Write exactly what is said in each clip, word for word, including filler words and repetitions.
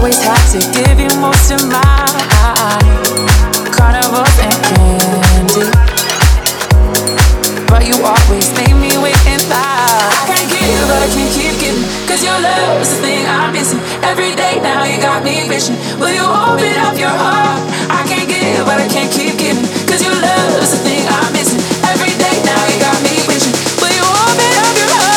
always had to give you most of my carnivals and candy, but you always made me wait in line. I can't give, but I can't keep giving, cause your love is the thing I'm missing. Every day now you got me wishing, will you open up your heart? I can't give, but I can't keep giving, cause your love is the thing I'm missing. Every day now you got me wishing, will you open up your heart?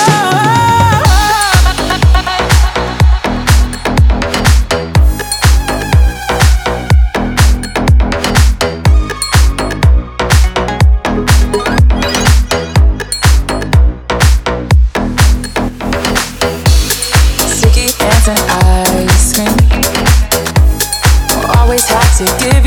Sticky hands and ice cream, always had to give